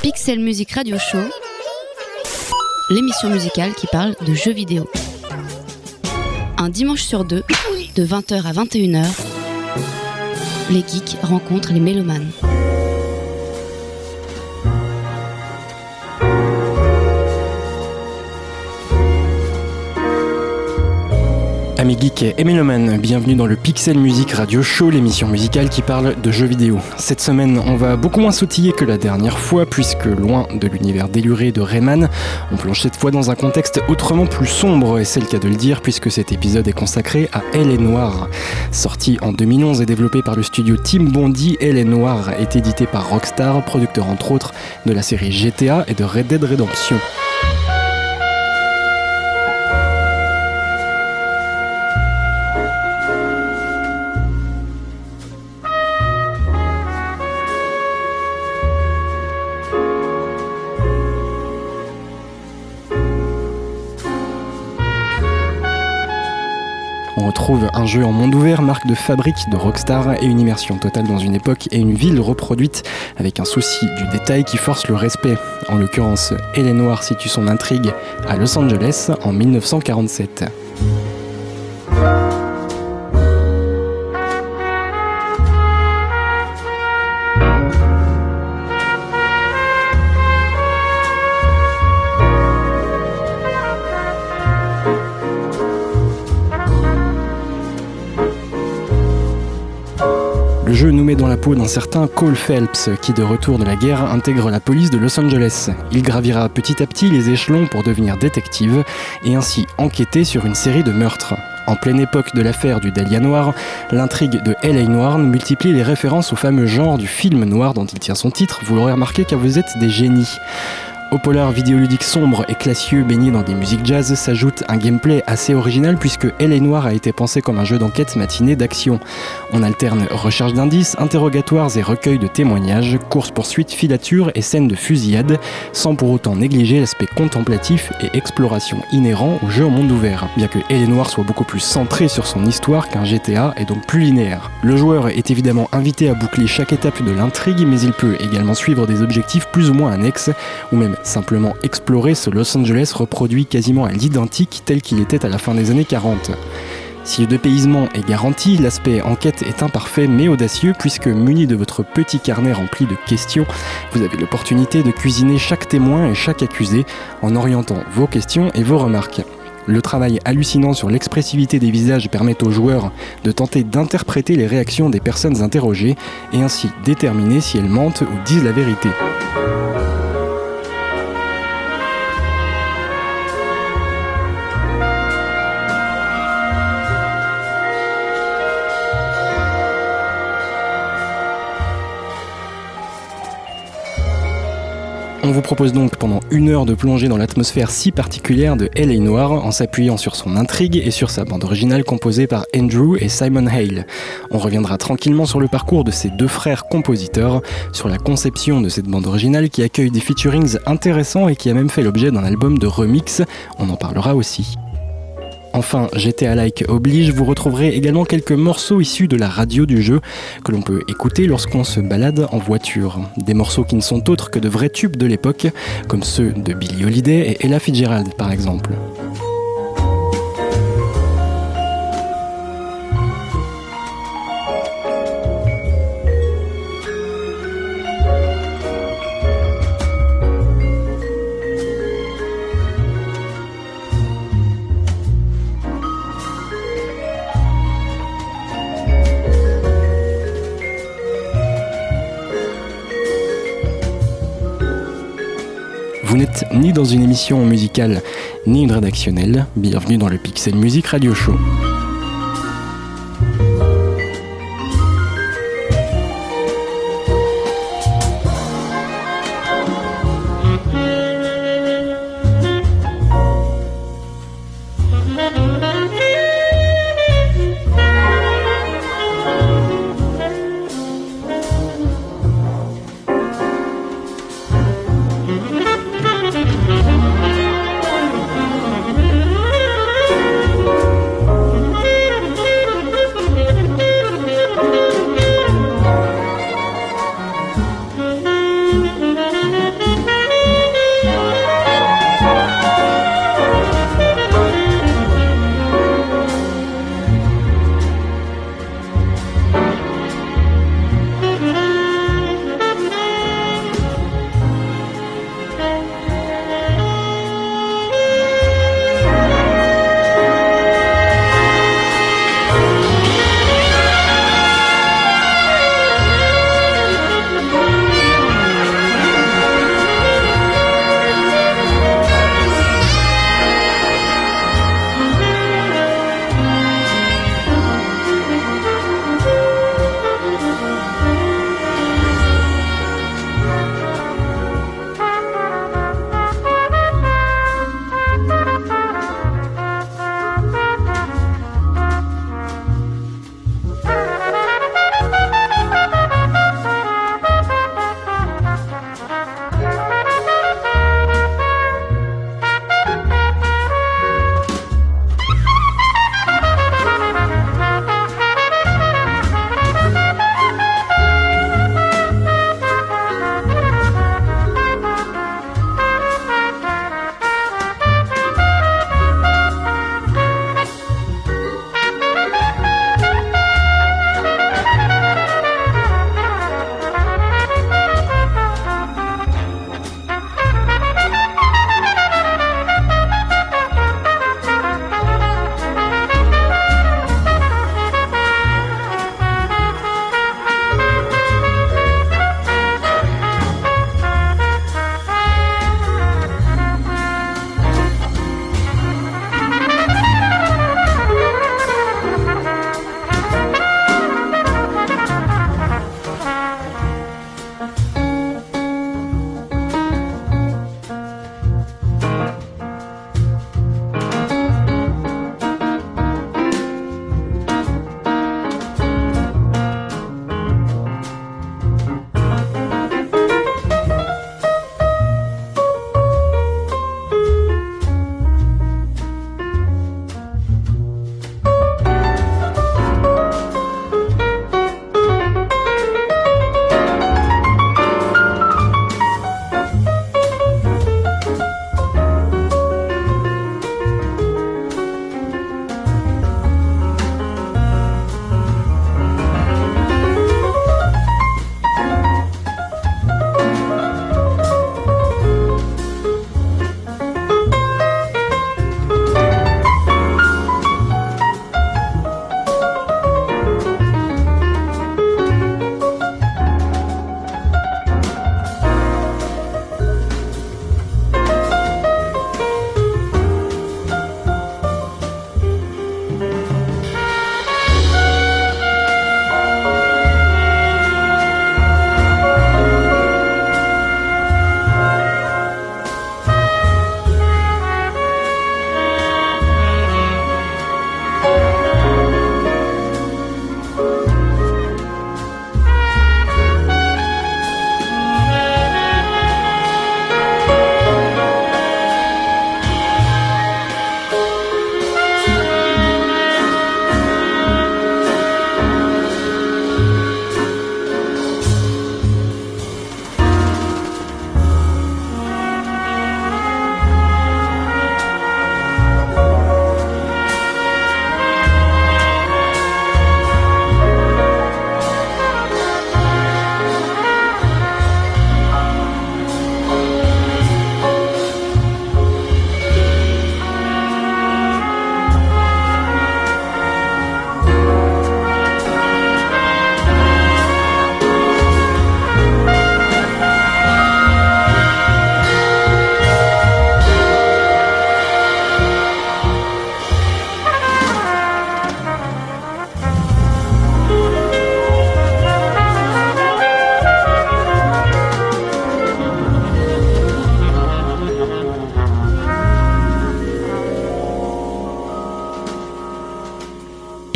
Pixel Music Radio Show, l'émission musicale qui parle de jeux vidéo. Un dimanche sur deux, de 20h à 21h, les geeks rencontrent les mélomanes. Amis geeks et mélomanes, bienvenue dans le Pixel Music Radio Show, l'émission musicale qui parle de jeux vidéo. Cette semaine, on va beaucoup moins sautiller que la dernière fois, puisque loin de l'univers déluré de Rayman, on plonge cette fois dans un contexte autrement plus sombre, et c'est le cas de le dire, puisque cet épisode est consacré à Elle est Noire. Sorti en 2011 et développé par le studio Team Bondi, Elle est Noire est édité par Rockstar, producteur entre autres de la série GTA et de Red Dead Redemption. On retrouve un jeu en monde ouvert, marque de fabrique de Rockstar, et une immersion totale dans une époque et une ville reproduite avec un souci du détail qui force le respect. En l'occurrence, Elle est Noire situe son intrigue à Los Angeles en 1947. Le jeu nous met dans la peau d'un certain Cole Phelps qui, de retour de la guerre, intègre la police de Los Angeles. Il gravira petit à petit les échelons pour devenir détective et ainsi enquêter sur une série de meurtres. En pleine époque de l'affaire du Dahlia Noir, l'intrigue de Elle est Noire multiplie les références au fameux genre du film noir dont il tient son titre, vous l'aurez remarqué car vous êtes des génies. Au polar vidéoludique sombre et classieux baigné dans des musiques jazz s'ajoute un gameplay assez original puisque Elle est Noire a été pensé comme un jeu d'enquête matiné d'action. On alterne recherche d'indices, interrogatoires et recueil de témoignages, course-poursuite, filature et scènes de fusillade, sans pour autant négliger l'aspect contemplatif et exploration inhérent au jeu en monde ouvert, bien que Elle est Noire soit beaucoup plus centré sur son histoire qu'un GTA et donc plus linéaire. Le joueur est évidemment invité à boucler chaque étape de l'intrigue, mais il peut également suivre des objectifs plus ou moins annexes, ou même simplement explorer ce Los Angeles reproduit quasiment à l'identique tel qu'il était à la fin des années 40. Si le dépaysement est garanti, l'aspect enquête est imparfait mais audacieux puisque muni de votre petit carnet rempli de questions, vous avez l'opportunité de cuisiner chaque témoin et chaque accusé en orientant vos questions et vos remarques. Le travail hallucinant sur l'expressivité des visages permet aux joueurs de tenter d'interpréter les réactions des personnes interrogées et ainsi déterminer si elles mentent ou disent la vérité. On vous propose donc pendant 1 heure de plonger dans l'atmosphère si particulière de Elle est Noire en s'appuyant sur son intrigue et sur sa bande originale composée par Andrew et Simon Hale. On reviendra tranquillement sur le parcours de ces deux frères compositeurs, sur la conception de cette bande originale qui accueille des featurings intéressants et qui a même fait l'objet d'un album de remix, on en parlera aussi. Enfin, GTA-like oblige, vous retrouverez également quelques morceaux issus de la radio du jeu que l'on peut écouter lorsqu'on se balade en voiture. Des morceaux qui ne sont autres que de vrais tubes de l'époque, comme ceux de Billie Holiday et Ella Fitzgerald par exemple. Vous n'êtes ni dans une émission musicale, ni une rédactionnelle. Bienvenue dans le Pixel Music Radio Show.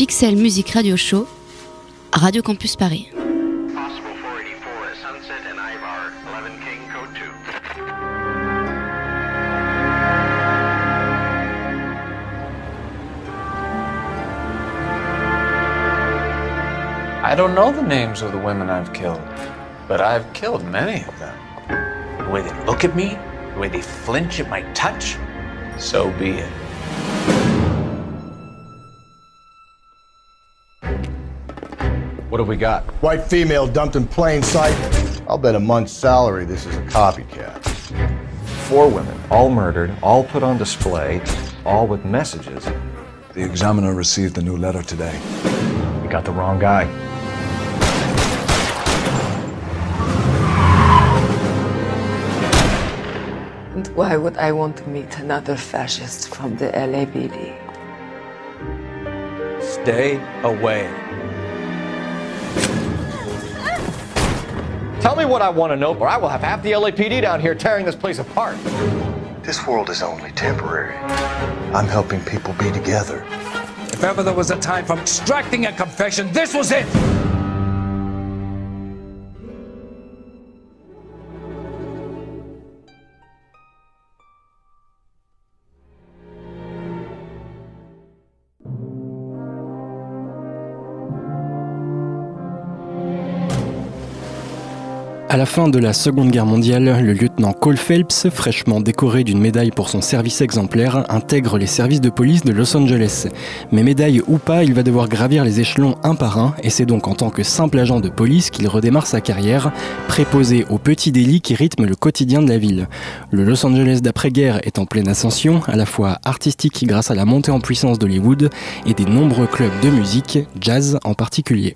XL Music Radio Show, Radio Campus Paris. I don't know the names of the women I've killed, but I've killed many of them. The way they look at me, the way they flinch at my touch, so be it. What have we got? White female dumped in plain sight. I'll bet a month's salary this is a copycat. 4 women, all murdered, all put on display, all with messages. The Examiner received a new letter today. We got the wrong guy. And why would I want to meet another fascist from the LAPD? Stay away. Tell me what I want to know, or I will have half the LAPD down here tearing this place apart. This world is only temporary. I'm helping people be together. If ever there was a time for extracting a confession, this was it! À la fin de la Seconde Guerre mondiale, le lieutenant Cole Phelps, fraîchement décoré d'une médaille pour son service exemplaire, intègre les services de police de Los Angeles. Mais médaille ou pas, il va devoir gravir les échelons un par un, et c'est donc en tant que simple agent de police qu'il redémarre sa carrière, préposé aux petits délits qui rythment le quotidien de la ville. Le Los Angeles d'après-guerre est en pleine ascension, à la fois artistique grâce à la montée en puissance d'Hollywood et des nombreux clubs de musique, jazz en particulier.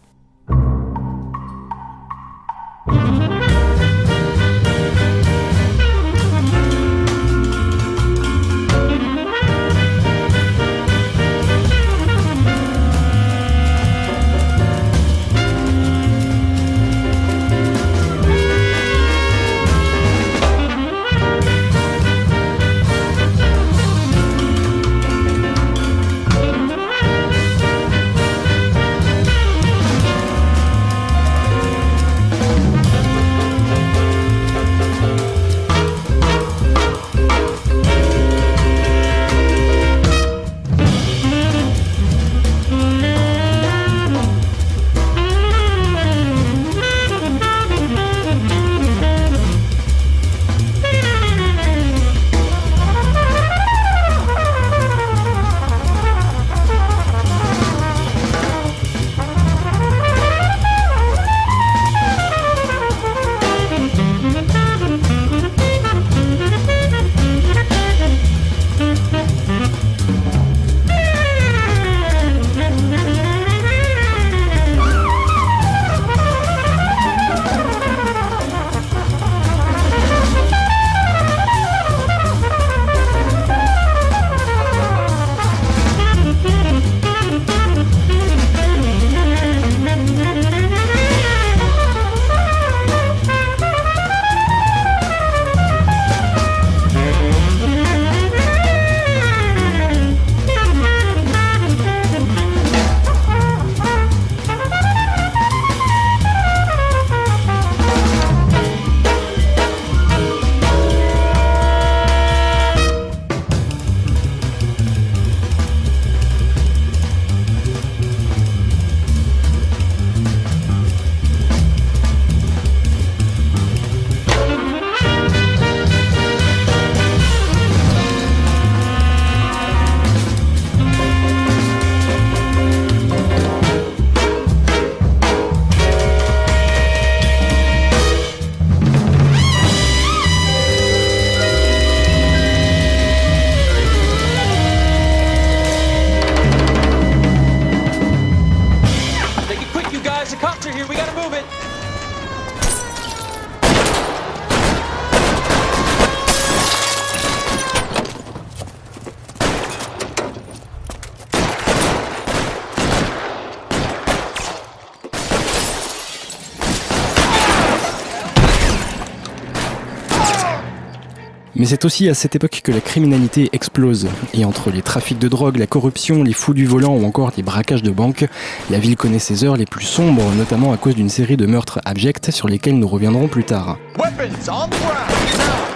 Mais c'est aussi à cette époque que la criminalité explose. Et entre les trafics de drogue, la corruption, les fous du volant ou encore les braquages de banques, la ville connaît ses heures les plus sombres, notamment à cause d'une série de meurtres abjects sur lesquels nous reviendrons plus tard. Weapons on the ground, now!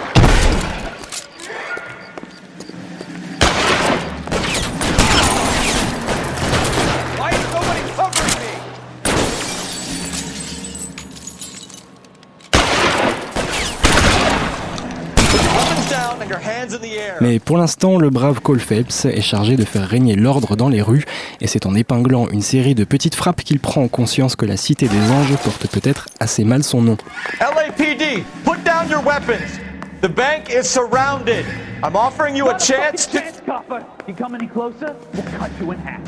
Mais pour l'instant, le brave Cole Phelps est chargé de faire régner l'ordre dans les rues, et c'est en épinglant une série de petites frappes qu'il prend conscience que la Cité des Anges porte peut-être assez mal son nom. LAPD, put down your weapons. The bank is surrounded. I'm offering you a chance to... You come any closer, we'll cut you in half.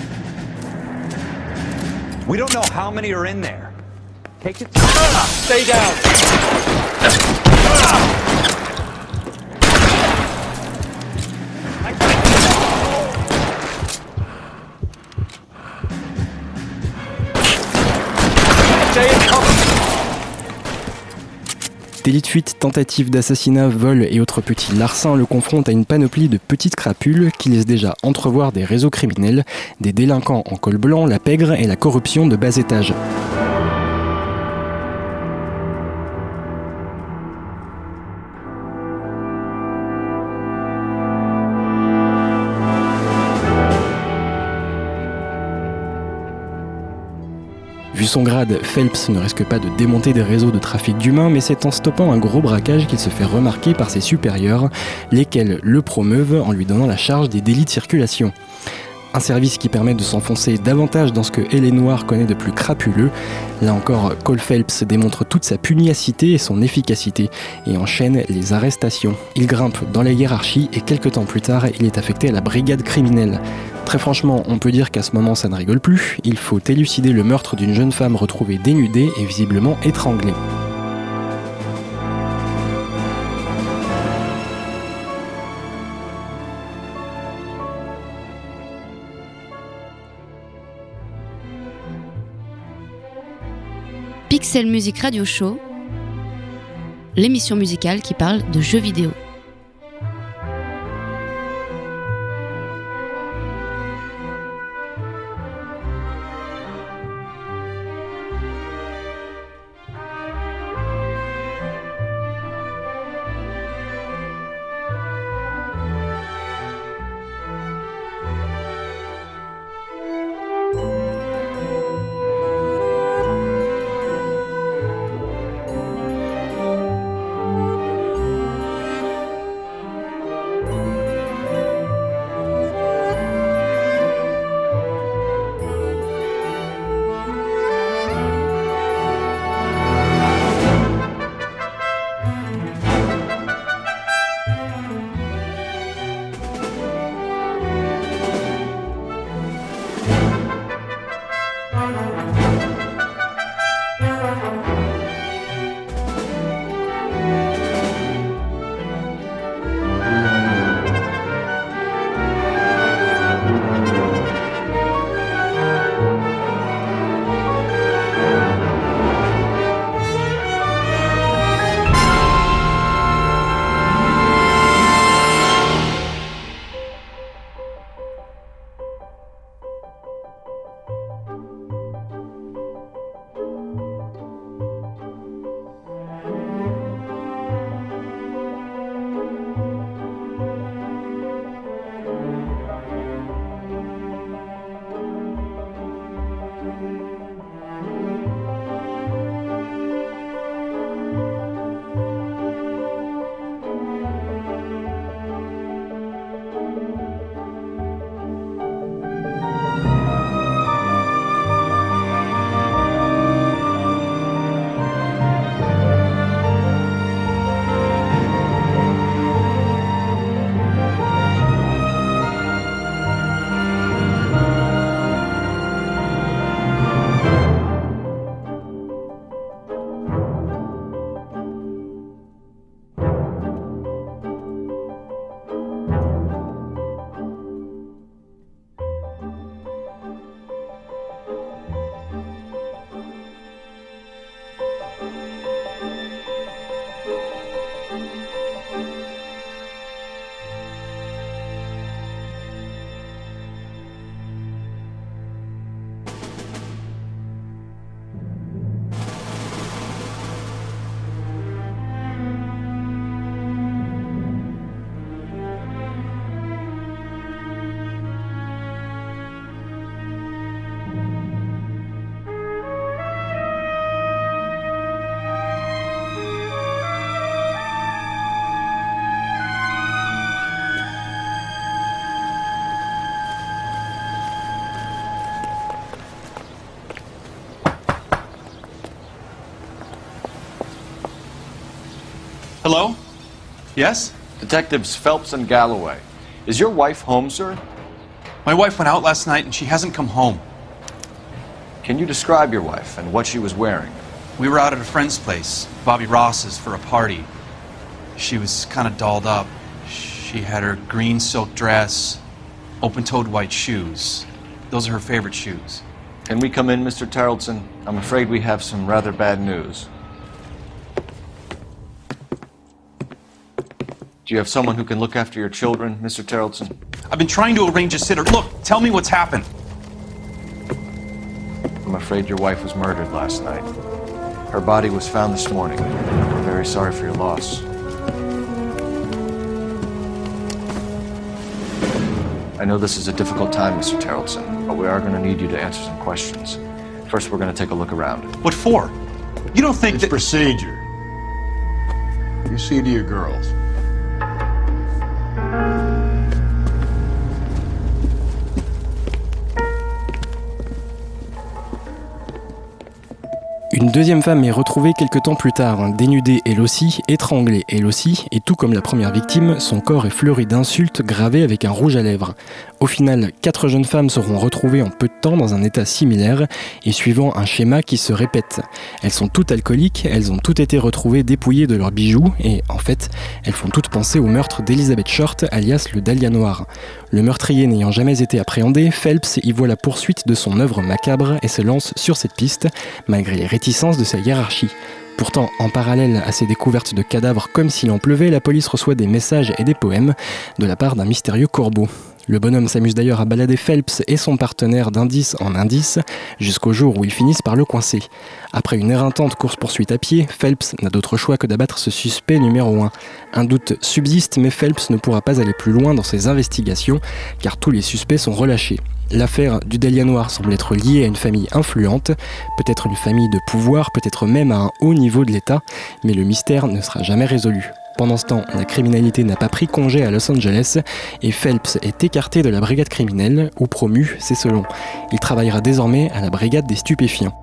We don't know how many are in there. Take it. Stay down. Délit de fuite, tentative d'assassinat, vol et autres petits larcins le confrontent à une panoplie de petites crapules qui laissent déjà entrevoir des réseaux criminels, des délinquants en col blanc, la pègre et la corruption de bas étage. Vu son grade, Phelps ne risque pas de démonter des réseaux de trafic d'humains, mais c'est en stoppant un gros braquage qu'il se fait remarquer par ses supérieurs, lesquels le promeuvent en lui donnant la charge des délits de circulation. Un service qui permet de s'enfoncer davantage dans ce que L.A. Noire connaît de plus crapuleux. Là encore, Cole Phelps démontre toute sa pugnacité et son efficacité, et enchaîne les arrestations. Il grimpe dans la hiérarchie et quelques temps plus tard, il est affecté à la brigade criminelle. Très franchement, on peut dire qu'à ce moment ça ne rigole plus, il faut élucider le meurtre d'une jeune femme retrouvée dénudée et visiblement étranglée. Pixel Music Radio Show, l'émission musicale qui parle de jeux vidéo. Hello? Yes? Detectives Phelps and Galloway. Is your wife home, sir? My wife went out last night and she hasn't come home. Can you describe your wife and what she was wearing? We were out at a friend's place, Bobby Ross's, for a party. She was kind of dolled up. She had her green silk dress, open-toed white shoes. Those are her favorite shoes. Can we come in, Mr. Tarleton? I'm afraid we have some rather bad news. Do you have someone who can look after your children, Mr. Tarleton? I've been trying to arrange a sitter. Look, tell me what's happened. I'm afraid your wife was murdered last night. Her body was found this morning. We're very sorry for your loss. I know this is a difficult time, Mr. Tarleton, but we are going to need you to answer some questions. First, we're going to take a look around. What for? You don't think it's procedure. You see to your girls. Une deuxième femme est retrouvée quelques temps plus tard, dénudée elle aussi, étranglée elle aussi, et tout comme la première victime, son corps est fleuri d'insultes gravées avec un rouge à lèvres. Au final, 4 jeunes femmes seront retrouvées en peu de temps dans un état similaire et suivant un schéma qui se répète. Elles sont toutes alcooliques, elles ont toutes été retrouvées dépouillées de leurs bijoux et, en fait, elles font toutes penser au meurtre d'Elizabeth Short, alias le Dahlia Noir. Le meurtrier n'ayant jamais été appréhendé, Phelps y voit la poursuite de son œuvre macabre et se lance sur cette piste, malgré les réticences de sa hiérarchie. Pourtant, en parallèle à ces découvertes de cadavres comme s'il en pleuvait, la police reçoit des messages et des poèmes de la part d'un mystérieux corbeau. Le bonhomme s'amuse d'ailleurs à balader Phelps et son partenaire d'indice en indice, jusqu'au jour où ils finissent par le coincer. Après une éreintante course-poursuite à pied, Phelps n'a d'autre choix que d'abattre ce suspect numéro 1. Un doute subsiste, mais Phelps ne pourra pas aller plus loin dans ses investigations, car tous les suspects sont relâchés. L'affaire du Dahlia Noir semble être liée à une famille influente, peut-être une famille de pouvoir, peut-être même à un haut niveau de l'État, mais le mystère ne sera jamais résolu. Pendant ce temps, la criminalité n'a pas pris congé à Los Angeles et Phelps est écarté de la brigade criminelle, ou promu, c'est selon. Il travaillera désormais à la brigade des stupéfiants.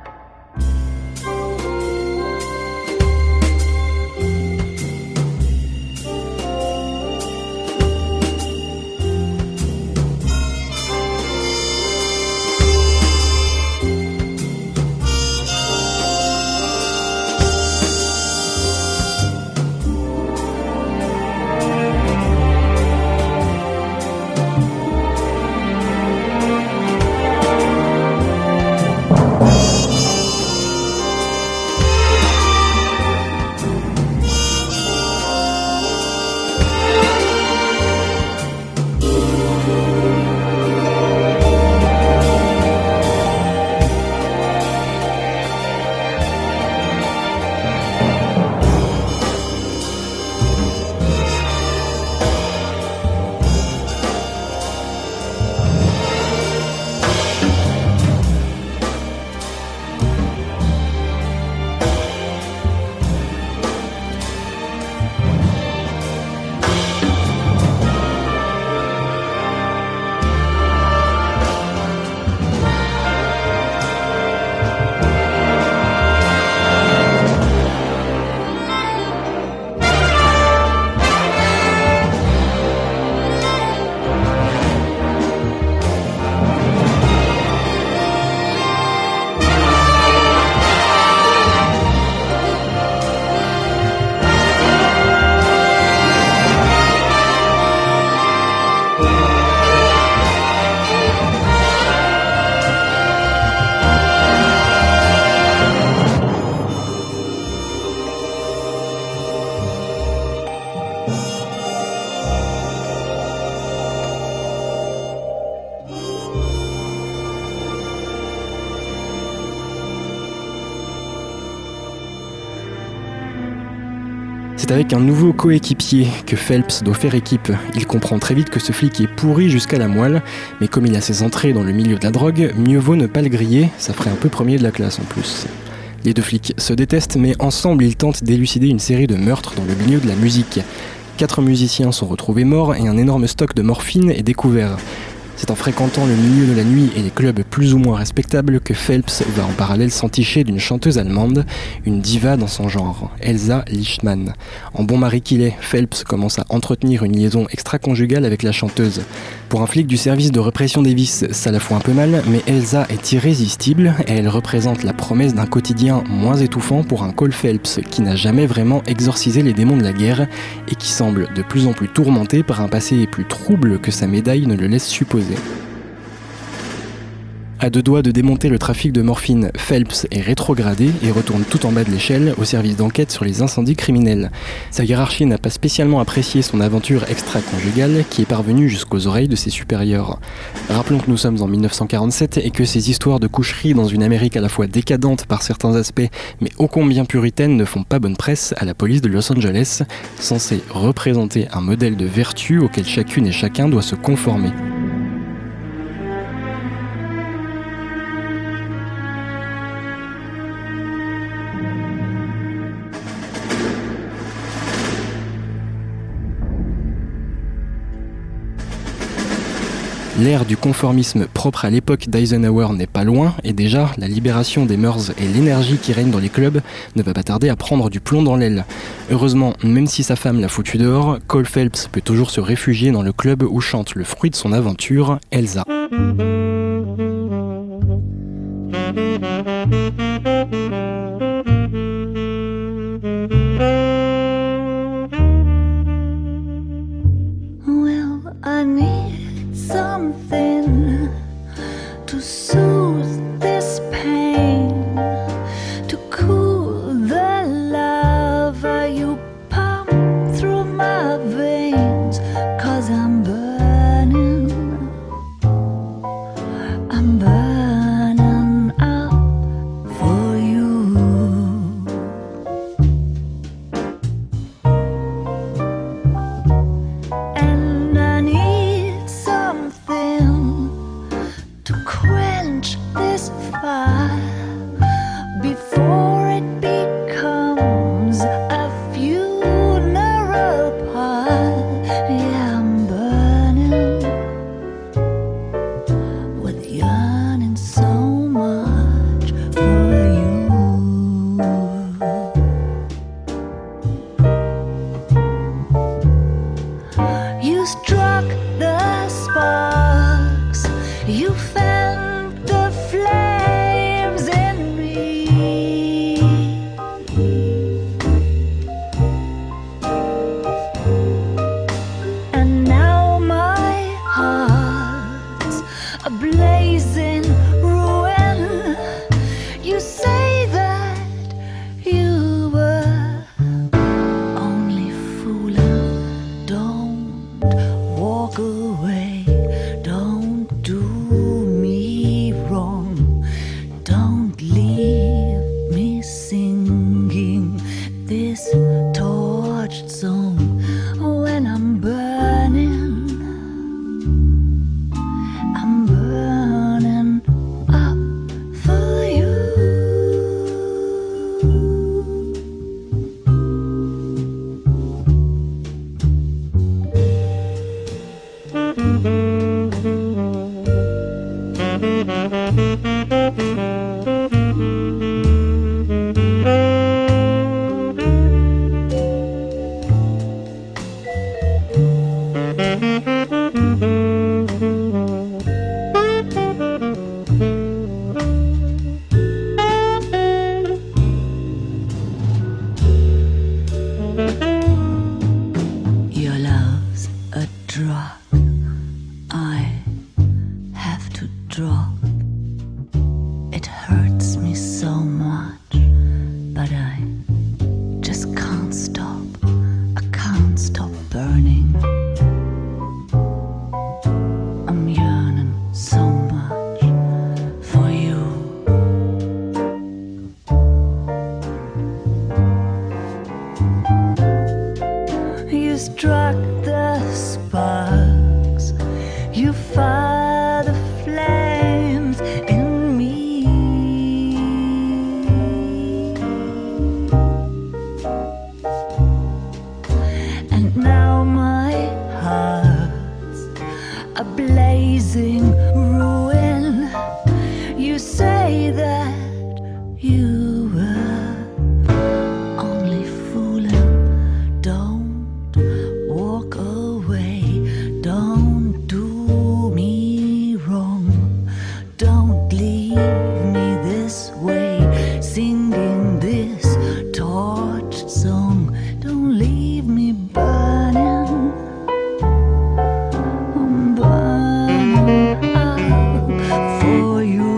C'est avec un nouveau coéquipier que Phelps doit faire équipe. Il comprend très vite que ce flic est pourri jusqu'à la moelle, mais comme il a ses entrées dans le milieu de la drogue, mieux vaut ne pas le griller, ça ferait un peu premier de la classe en plus. Les deux flics se détestent, mais ensemble ils tentent d'élucider une série de meurtres dans le milieu de la musique. 4 musiciens sont retrouvés morts et un énorme stock de morphine est découvert. C'est en fréquentant le milieu de la nuit et les clubs plus ou moins respectables que Phelps va en parallèle s'enticher d'une chanteuse allemande, une diva dans son genre, Elsa Lichtmann. En bon mari qu'il est, Phelps commence à entretenir une liaison extra-conjugale avec la chanteuse. Pour un flic du service de répression des vices, ça la fout un peu mal, mais Elsa est irrésistible et elle représente la promesse d'un quotidien moins étouffant pour un Cole Phelps qui n'a jamais vraiment exorcisé les démons de la guerre et qui semble de plus en plus tourmenté par un passé plus trouble que sa médaille ne le laisse supposer. À deux doigts de démonter le trafic de morphine, Phelps est rétrogradé et retourne tout en bas de l'échelle au service d'enquête sur les incendies criminels. Sa hiérarchie n'a pas spécialement apprécié son aventure extra-conjugale qui est parvenue jusqu'aux oreilles de ses supérieurs. Rappelons que nous sommes en 1947 et que ces histoires de coucherie dans une Amérique à la fois décadente par certains aspects mais ô combien puritaine ne font pas bonne presse à la police de Los Angeles, censée représenter un modèle de vertu auquel chacune et chacun doit se conformer. L'ère du conformisme propre à l'époque d'Eisenhower n'est pas loin, et déjà, la libération des mœurs et l'énergie qui règne dans les clubs ne va pas tarder à prendre du plomb dans l'aile. Heureusement, même si sa femme l'a foutu dehors, Cole Phelps peut toujours se réfugier dans le club où chante le fruit de son aventure, Elsa. Well, I need something to soothe this pain, to cool the lava you pump through my veins, 'cause I'm burning up for you. And I need something to quench this fire before it becomes a funeral pyre. Yeah, I'm burning with yearning so much for you. You struck the sparks, you felt the flames in me, and now my heart's a blazing ruin. You say that you were only fooling. Don't walk away, don't do me wrong, don't leave me singing this torched song when I'm burning up for you. Your love's a drug I have to drop. It hurts me so much, but I just can't stop. I can't stop burning. I'm yearning so much for you. You struck the sparks, you fire the flames in me, and now my heart's a blazing ruin. You say that you were only fooling. Don't walk away. Don't do me wrong. Don't leave me this way, singing this torch song. Don't leave me burning. I'm burning up for you.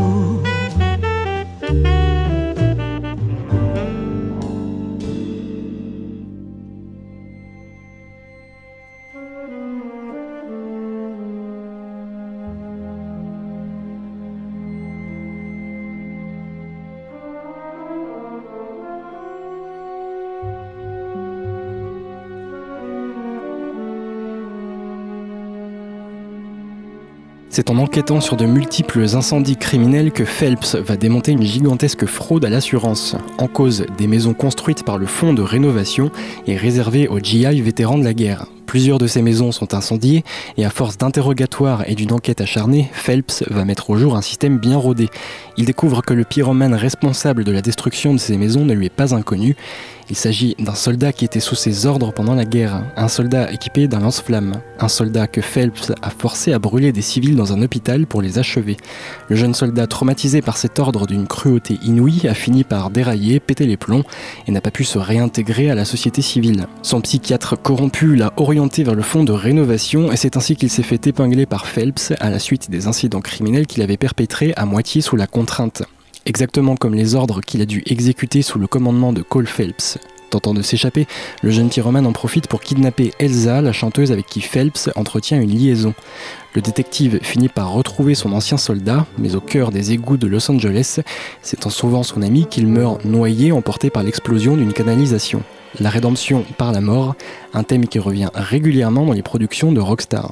C'est en enquêtant sur de multiples incendies criminels que Phelps va démonter une gigantesque fraude à l'assurance. En cause, des maisons construites par le fonds de rénovation et réservées aux GI vétérans de la guerre. Plusieurs de ces maisons sont incendiées et à force d'interrogatoires et d'une enquête acharnée, Phelps va mettre au jour un système bien rodé. Il découvre que le pyromane responsable de la destruction de ces maisons ne lui est pas inconnu. Il s'agit d'un soldat qui était sous ses ordres pendant la guerre, un soldat équipé d'un lance-flamme, un soldat que Phelps a forcé à brûler des civils dans un hôpital pour les achever. Le jeune soldat, traumatisé par cet ordre d'une cruauté inouïe, a fini par dérailler, péter les plombs et n'a pas pu se réintégrer à la société civile. Son psychiatre corrompu l'a orienté vers le fonds de rénovation et c'est ainsi qu'il s'est fait épingler par Phelps à la suite des incidents criminels qu'il avait perpétrés à moitié sous la contrainte. Exactement comme les ordres qu'il a dû exécuter sous le commandement de Cole Phelps. Tentant de s'échapper, le jeune pyromane en profite pour kidnapper Elsa, la chanteuse avec qui Phelps entretient une liaison. Le détective finit par retrouver son ancien soldat, mais au cœur des égouts de Los Angeles, c'est en sauvant son ami qu'il meurt noyé, emporté par l'explosion d'une canalisation. La rédemption par la mort, un thème qui revient régulièrement dans les productions de Rockstar.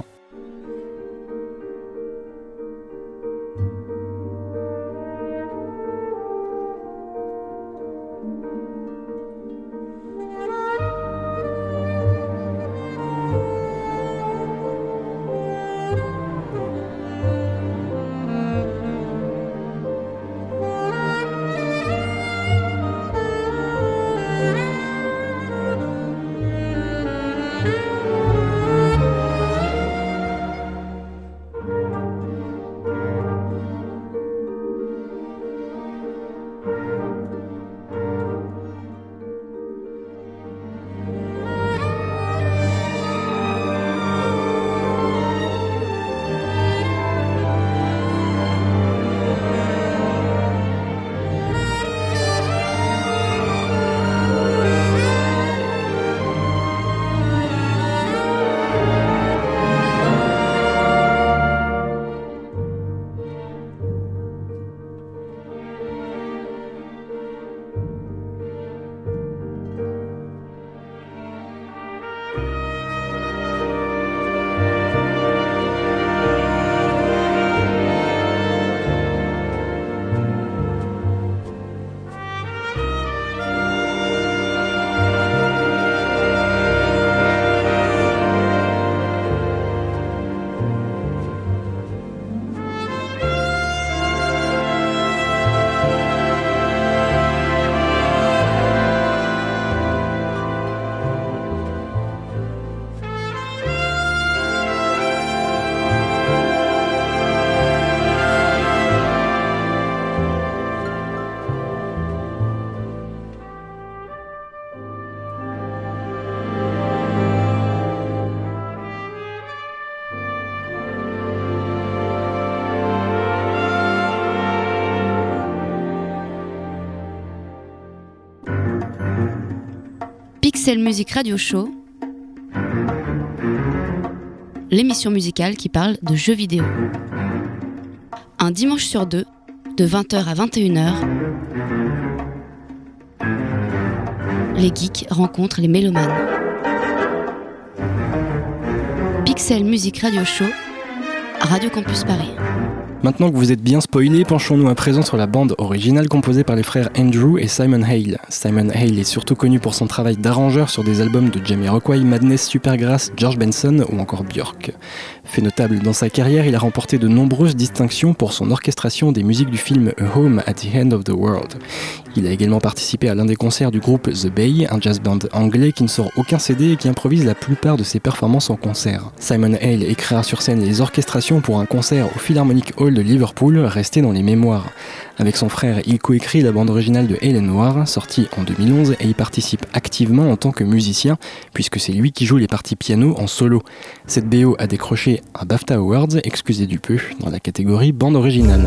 Pixel Music Radio Show, l'émission musicale qui parle de jeux vidéo. Un dimanche sur deux, de 20h à 21h, les geeks rencontrent les mélomanes. Pixel Music Radio Show, Radio Campus Paris. Maintenant que vous êtes bien spoilés, penchons-nous à présent sur la bande originale composée par les frères Andrew et Simon Hale. Simon Hale est surtout connu pour son travail d'arrangeur sur des albums de Jamiroquai, Madness, Supergrass, George Benson ou encore Björk. Fait notable dans sa carrière, il a remporté de nombreuses distinctions pour son orchestration des musiques du film A Home at the End of the World. Il a également participé à l'un des concerts du groupe The Bay, un jazz band anglais qui ne sort aucun CD et qui improvise la plupart de ses performances en concert. Simon Hale écrira sur scène les orchestrations pour un concert au Philharmonic Hall de Liverpool, resté dans les mémoires. Avec son frère, il coécrit la bande originale de Hale & Noir, sortie en 2011, et y participe activement en tant que musicien, puisque c'est lui qui joue les parties piano en solo. Cette BO a décroché un BAFTA Awards, excusez du peu, dans la catégorie bande originale.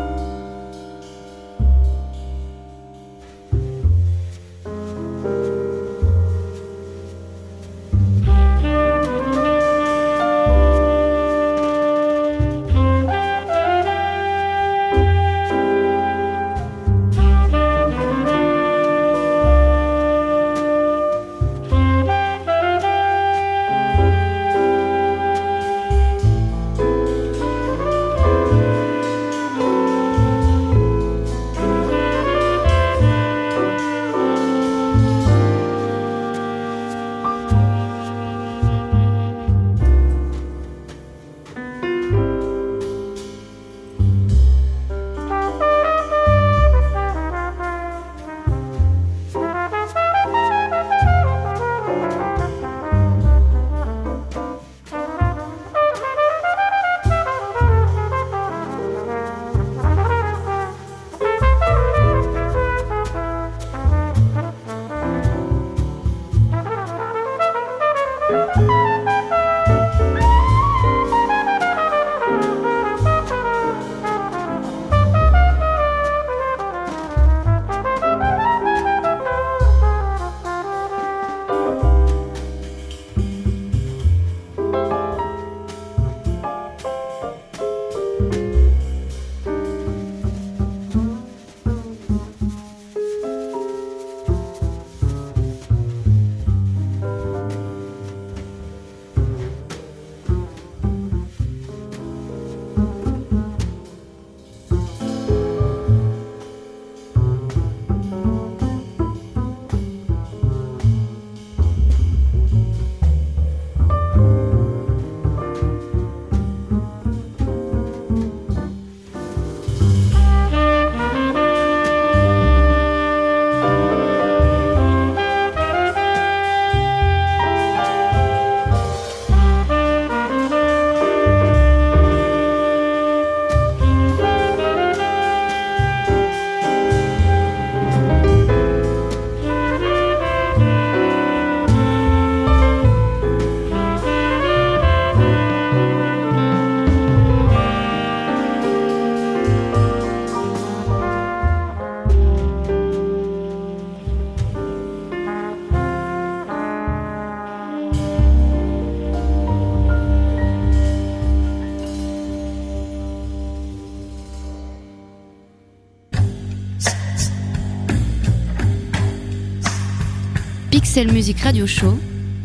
Pixel Music Radio Show,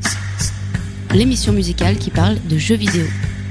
l'émission musicale qui parle de jeux vidéo.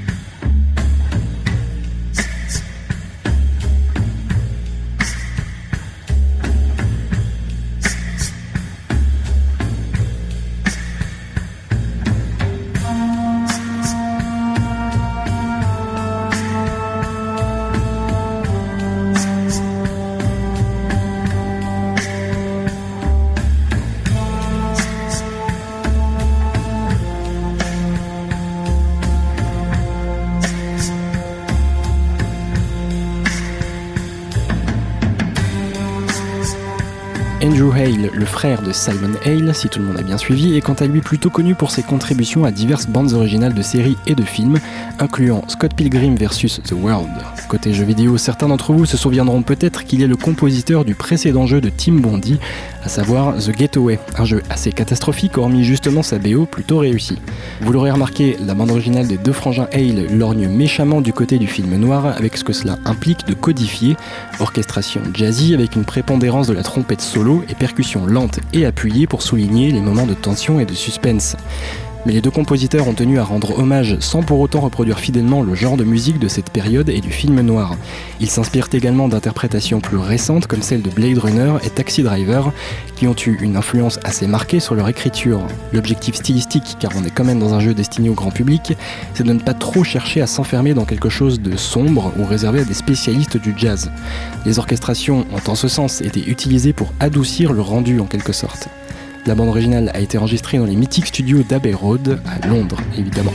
Andrew Hale, le frère de Simon Hale, si tout le monde a bien suivi, est quant à lui plutôt connu pour ses contributions à diverses bandes originales de séries et de films, incluant Scott Pilgrim vs. The World. Côté jeux vidéo, certains d'entre vous se souviendront peut-être qu'il est le compositeur du précédent jeu de Tim Bondi, à savoir The Getaway, un jeu assez catastrophique hormis justement sa BO plutôt réussie. Vous l'aurez remarqué, la bande originale des deux frangins Hale lorgne méchamment du côté du film noir avec ce que cela implique de codifier, orchestration jazzy avec une prépondérance de la trompette solo et percussions lentes et appuyées pour souligner les moments de tension et de suspense. Mais les deux compositeurs ont tenu à rendre hommage sans pour autant reproduire fidèlement le genre de musique de cette période et du film noir. Ils s'inspirent également d'interprétations plus récentes comme celles de Blade Runner et Taxi Driver, qui ont eu une influence assez marquée sur leur écriture. L'objectif stylistique, car on est quand même dans un jeu destiné au grand public, c'est de ne pas trop chercher à s'enfermer dans quelque chose de sombre ou réservé à des spécialistes du jazz. Les orchestrations ont en ce sens été utilisées pour adoucir le rendu en quelque sorte. La bande originale a été enregistrée dans les mythiques studios d'Abbey Road, à Londres évidemment.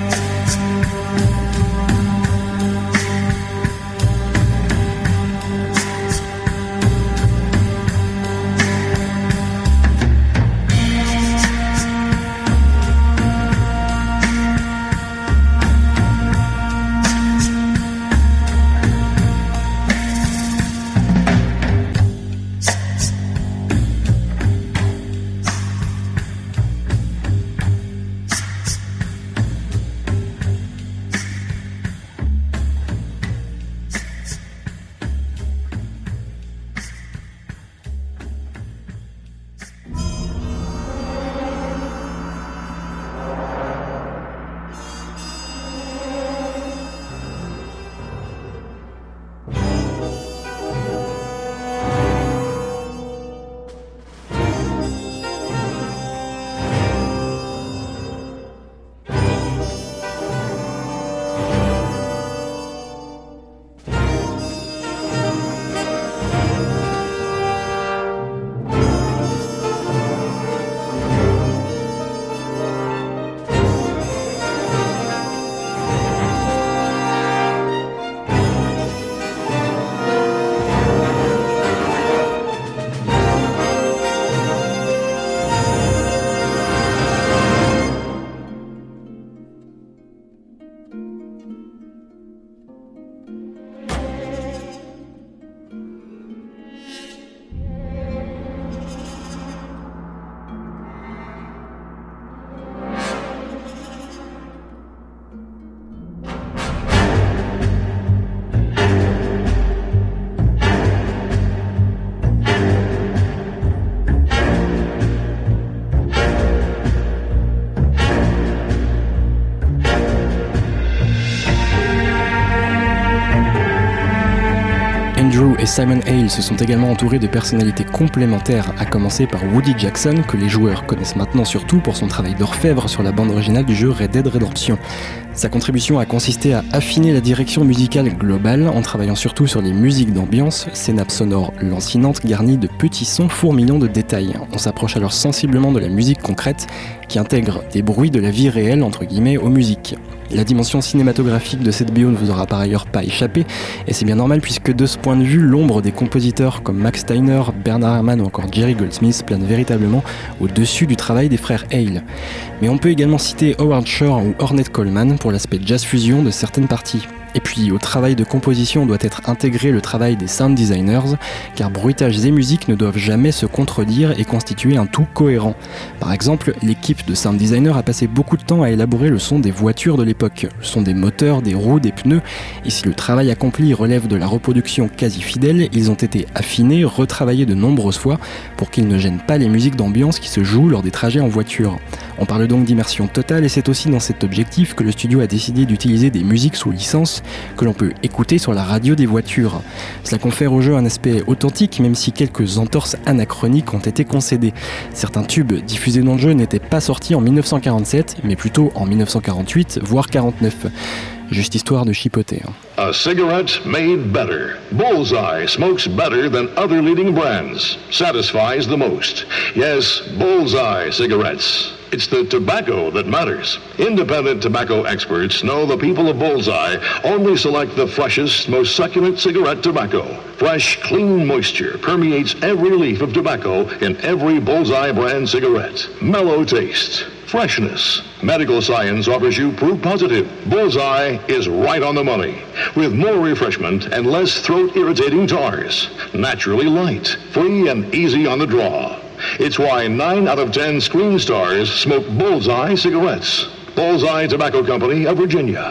Andrew et Simon Hale se sont également entourés de personnalités complémentaires, à commencer par Woody Jackson, que les joueurs connaissent maintenant surtout pour son travail d'orfèvre sur la bande originale du jeu Red Dead Redemption. Sa contribution a consisté à affiner la direction musicale globale en travaillant surtout sur les musiques d'ambiance, ces nappes sonores lancinantes garnies de petits sons fourmillants de détails. On s'approche alors sensiblement de la musique concrète qui intègre des bruits de la vie réelle entre guillemets aux musiques. La dimension cinématographique de cette BO ne vous aura par ailleurs pas échappé, et c'est bien normal puisque de ce point de vue, l'ombre des compositeurs comme Max Steiner, Bernard Herrmann ou encore Jerry Goldsmith plane véritablement au-dessus du travail des frères Hale. Mais on peut également citer Howard Shore ou Ornette Coleman pour l'aspect jazz fusion de certaines parties. Et puis au travail de composition doit être intégré le travail des sound designers, car bruitages et musique ne doivent jamais se contredire et constituer un tout cohérent. Par exemple, l'équipe de sound designers a passé beaucoup de temps à élaborer le son des voitures de l'époque, le son des moteurs, des roues, des pneus, et si le travail accompli relève de la reproduction quasi fidèle, ils ont été affinés, retravaillés de nombreuses fois pour qu'ils ne gênent pas les musiques d'ambiance qui se jouent lors des trajets en voiture. On parle donc d'immersion totale et c'est aussi dans cet objectif que le studio a décidé d'utiliser des musiques sous licence que l'on peut écouter sur la radio des voitures. Cela confère au jeu un aspect authentique même si quelques entorses anachroniques ont été concédées. Certains tubes diffusés dans le jeu n'étaient pas sortis en 1947 mais plutôt en 1948 voire 49. Juste histoire de chipoter. A cigarette made better. Bullseye smokes better than other leading brands. Satisfies the most. Yes, Bullseye cigarettes. It's the tobacco that matters. Independent tobacco experts know the people of Bullseye only select the freshest, most succulent cigarette tobacco. Fresh, clean moisture permeates every leaf of tobacco in every Bullseye brand cigarette. Mellow taste. Freshness. Medical science offers you proof positive. Bullseye is right on the money. With more refreshment and less throat-irritating tars. Naturally light, free and easy on the draw. It's why 9 out of 10 screen stars smoke Bullseye cigarettes. Bullseye Tobacco Company of Virginia.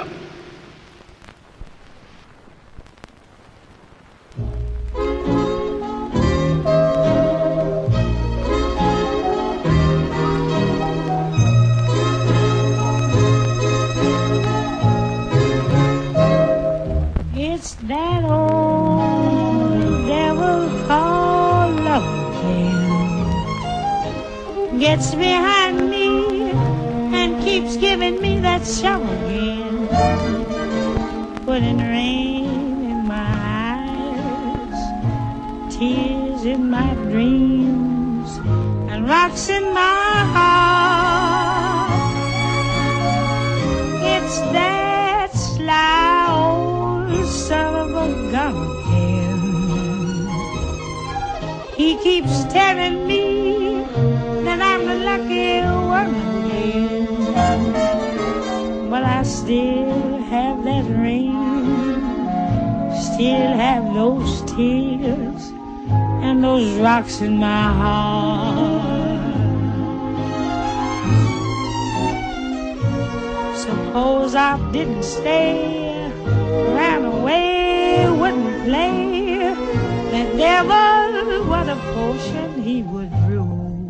gets behind me and keeps giving me that shovel again, putting rain in my eyes, tears in my dreams, and rocks in my heart. It's that sly old son of a gun again. He keeps telling me that I'm the lucky one again, but I still have that ring, still have those tears and those rocks in my heart. Suppose I didn't stay, ran away, wouldn't play, the devil, what a potion he would brew.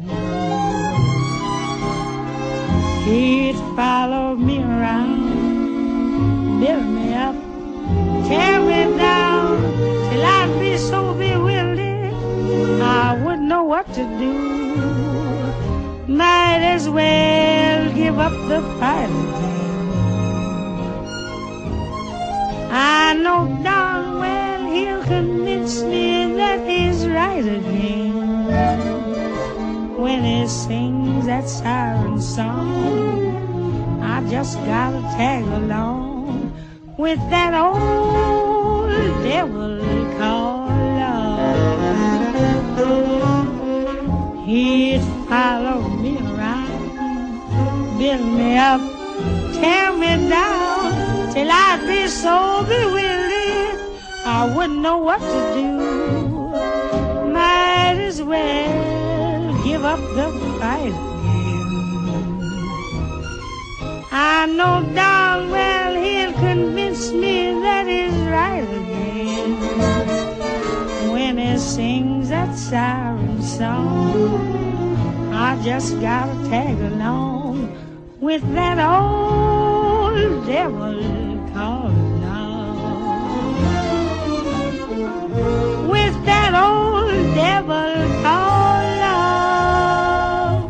He'd follow me around, build me up, tear me down, till I'd be so bewildered I wouldn't know what to do. Might as well give up the fight again. I know darn well he'll convince me that he's right again when he sings that siren song. I just gotta tag along with that old devil called love. He'd follow me around, build me up, tear me down, till I'd be so bewildered I wouldn't know what to do. Might as well give up the fight again. I know darn well he'll convince me that he's right again when he sings that siren song. I just gotta tag along with that old devil called love. With that old devil called love.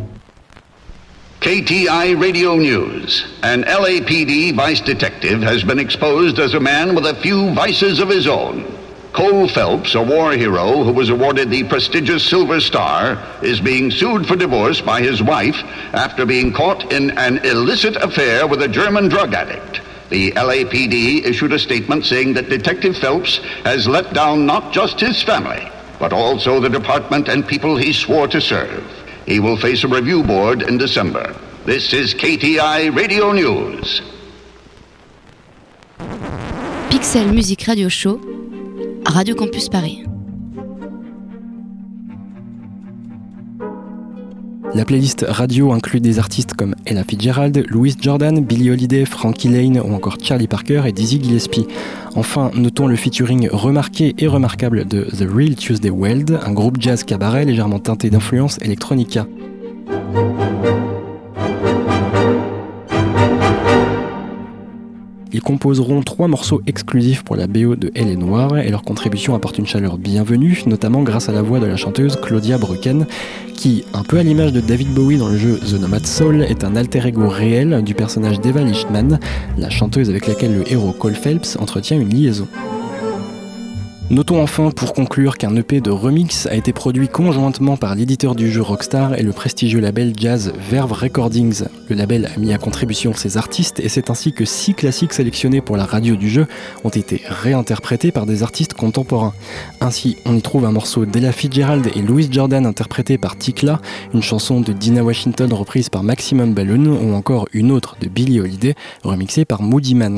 KTI Radio News. An LAPD vice detective has been exposed as a man with a few vices of his own. Cole Phelps, a war hero who was awarded the prestigious Silver Star, is being sued for divorce by his wife after being caught in an illicit affair with a German drug addict. The LAPD issued a statement saying that Detective Phelps has let down not just his family, but also the department and people he swore to serve. He will face a review board in December. This is KTI Radio News. Pixel Music Radio Show, Radio Campus Paris. La playlist radio inclut des artistes comme Ella Fitzgerald, Louis Jordan, Billie Holiday, Frankie Lane ou encore Charlie Parker et Dizzy Gillespie. Enfin, notons le featuring remarqué et remarquable de The Real Tuesday Weld, un groupe jazz cabaret légèrement teinté d'influence electronica. Ils composeront 3 morceaux exclusifs pour la BO de Elle est Noire et leur contribution apporte une chaleur bienvenue, notamment grâce à la voix de la chanteuse Claudia Brücken, qui, un peu à l'image de David Bowie dans le jeu The Nomad Soul, est un alter ego réel du personnage d'Eva Lichtman, la chanteuse avec laquelle le héros Cole Phelps entretient une liaison. Notons enfin pour conclure qu'un EP de remix a été produit conjointement par l'éditeur du jeu Rockstar et le prestigieux label jazz Verve Recordings. Le label a mis à contribution ses artistes et c'est ainsi que 6 classiques sélectionnés pour la radio du jeu ont été réinterprétés par des artistes contemporains. Ainsi, on y trouve un morceau d'Ella Fitzgerald et Louis Jordan interprété par Tikla, une chanson de Dinah Washington reprise par Maximum Balloon ou encore une autre de Billie Holiday remixée par Moody Man.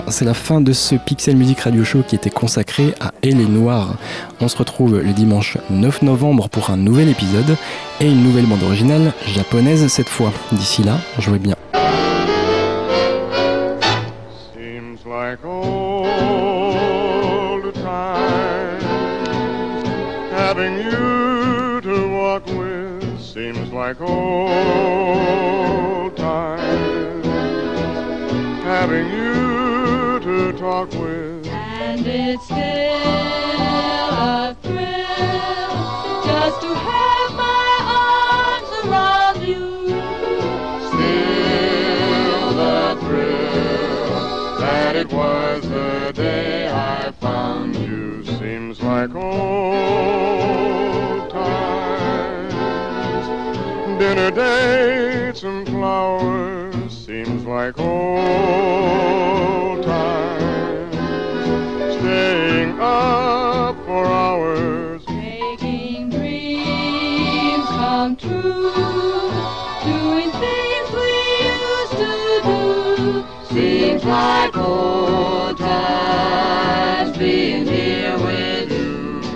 c'est la fin de ce Pixel Music Radio Show qui était consacré à Elle est Noire. On se retrouve le dimanche 9 novembre pour un nouvel épisode et une nouvelle bande originale japonaise cette fois. D'ici là, jouez bien. Seems like old times, having you to walk with. Seems like old times, having you to talk with. And it's still a thrill just to have my arms around you. Still the thrill that it was the day I found you. Seems like old times, dinner dates and flowers. Seems like old times, staying up for hours, making dreams come true, doing things we used to do. Seems like old times being here with you.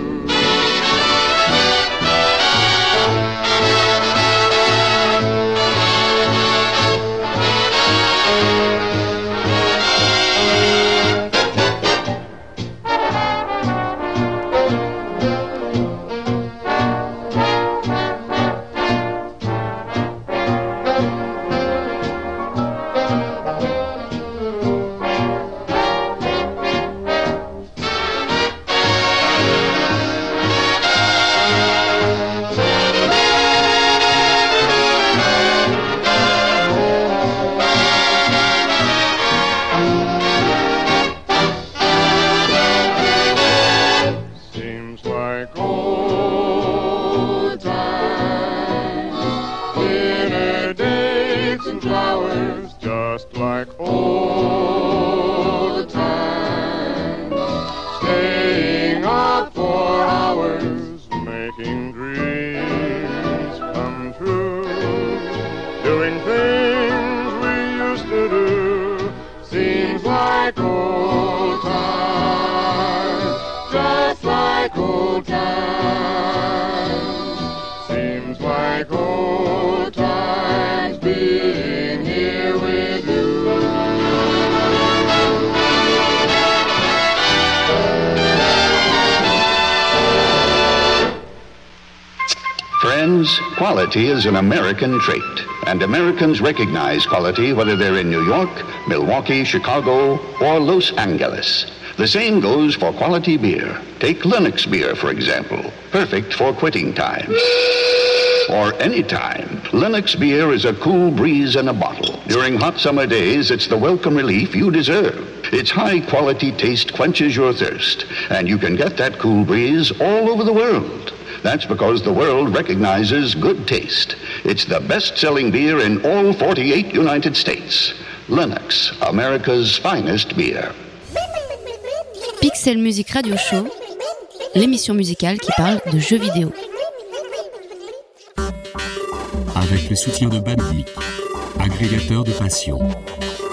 Quality is an American trait, and Americans recognize quality whether they're in New York, Milwaukee, Chicago, or Los Angeles. The same goes for quality beer. Take Lennox beer, for example, perfect for quitting time. Or any time. Lennox beer is a cool breeze in a bottle. During hot summer days, it's the welcome relief you deserve. Its high-quality taste quenches your thirst, and you can get that cool breeze all over the world. That's because the world recognizes good taste. It's the best-selling beer in all 48 United States. Lennox, America's finest beer. Pixel Music Radio Show, l'émission musicale qui parle de jeux vidéo. Avec le soutien de Bandic, agrégateur de passion.